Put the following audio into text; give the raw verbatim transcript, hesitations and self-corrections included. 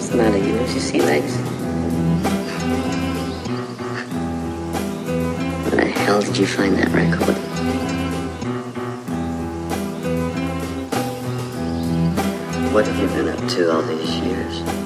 What's the matter? You don't you see legs? Where the hell did you find that record? What have you been up to all these years?